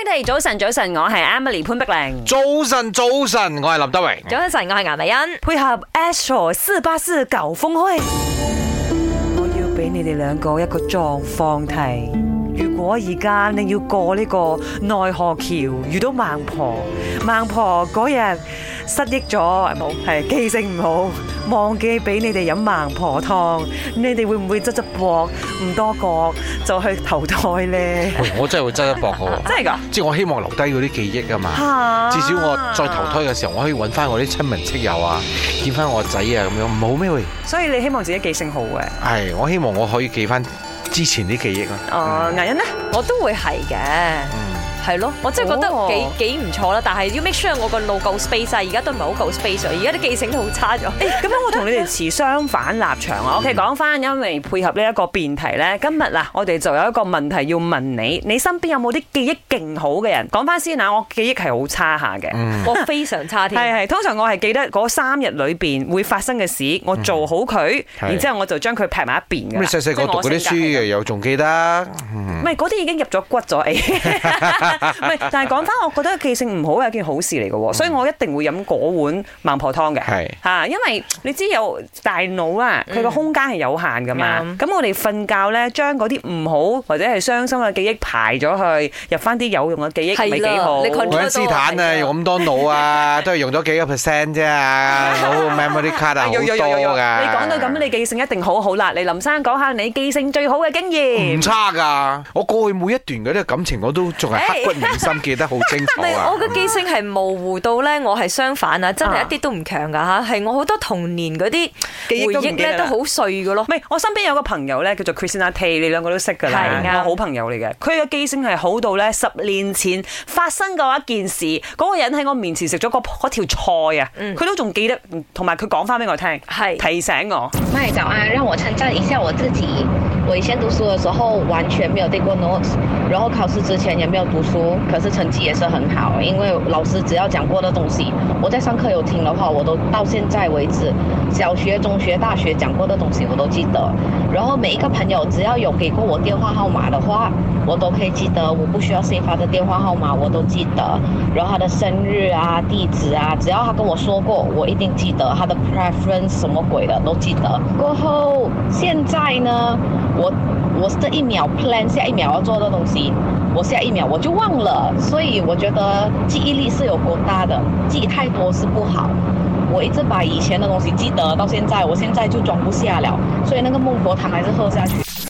哋早晨，早晨，我係 Emily 潘碧玲。 早晨，早晨，我係林德榮。 早晨，我係顏麗欣。配合 Astro 484搞峰會，我要俾你哋兩個一個狀況題。如果而家你要過呢個奈何橋，遇到孟婆，孟婆嗰日失憶咗，冇係記性唔好，忘記俾你哋飲孟婆湯，你哋會唔會側側膊唔多覺就去投胎咧？ 我真係會側一膊嘅， 真係㗎！ 即係我希望留低嗰啲記憶啊嘛，至少我再投胎嘅時候，我可以揾翻我啲親朋戚友啊，見翻我仔啊咁樣，唔好咩喂？ 所以你希望自己記性好嘅？ 係，我希望我可以記翻之前啲記憶啊。 顏欣呢？ 我都會係嘅。係咯，我真係覺得幾唔錯啦，但係要 make sure 我個腦夠 space 啊，而家都唔係好夠 space 啊，而家啲記性都好差咗。 咁樣我同你哋持相反立場啊。OK， 講翻，因為配合呢一個辯題咧，今日嗱，我哋就有一個問題要問你，你身邊有冇啲記憶勁好嘅人？講翻先啊，我記憶係好差下嘅， 我非常差添。 係，通常我係記得嗰3日裏邊會發生嘅事，我做好佢，然之後我就將佢劈埋一邊㗎。 你細細個讀嗰啲書又仲記得？ 唔係嗰啲已經入咗骨咗，唔係，但係講翻，我覺得記性唔好係一件好事嚟嘅喎，所以我一定會飲嗰碗孟婆湯嘅。係嚇，因為你知有大腦啦，佢個空間係有限㗎嘛。咁我哋瞓覺咧，將嗰啲唔好或者係傷心嘅記憶排咗去，入翻啲有用嘅記憶，咪幾好。 愛因斯坦啊，用咁多腦啊，都係用咗幾個%啫啊，腦 memory card 啊好多㗎。 你講到咁，你記性一定好好啦。你林生講下你記性最好嘅經驗。 唔差㗎，我過去每一段嗰啲感情我都仲係刻骨銘心，記得好清楚啊！ 我嘅記性係模糊到咧，我係相反啊，真係一啲都唔強㗎嚇，係我好多童年嗰啲回憶咧都好碎㗎咯。 唔係，我身邊有個朋友咧叫做 Christina Tay， 你兩個都識㗎啦，我好朋友嚟嘅。佢嘅記性係好到咧10年前發生過一件事，嗰個人喺我面前食咗嗰條菜啊，佢都仲記得，同埋佢講翻俾我聽，提醒我。 麥早安，讓我稱讚一下我自己。我以前讀書的時候完全沒有訂過 notes， 然後考試之前也沒有讀書，可是成績也是很好，因為老師只要講過的東西，我在上課有聽的話，我都到現在為止，小學、中學、大學講過的東西我都記得。然後每一個朋友只要有給過我電話號碼的話，我都可以記得，我不需要 save 他的電話號碼我都記得。然後他的生日啊、地址啊，只要他跟我說過，我一定記得。他的 preference 什麼鬼的都記得。過後現在呢，我這一秒 plan 下一秒要做的東西，我下一秒我就忘了，所以我覺得記憶力是有夠大的，記太多是不好。我一直把以前的東西記得到現在，我現在就裝不下了，所以那個孟婆湯還是喝下去。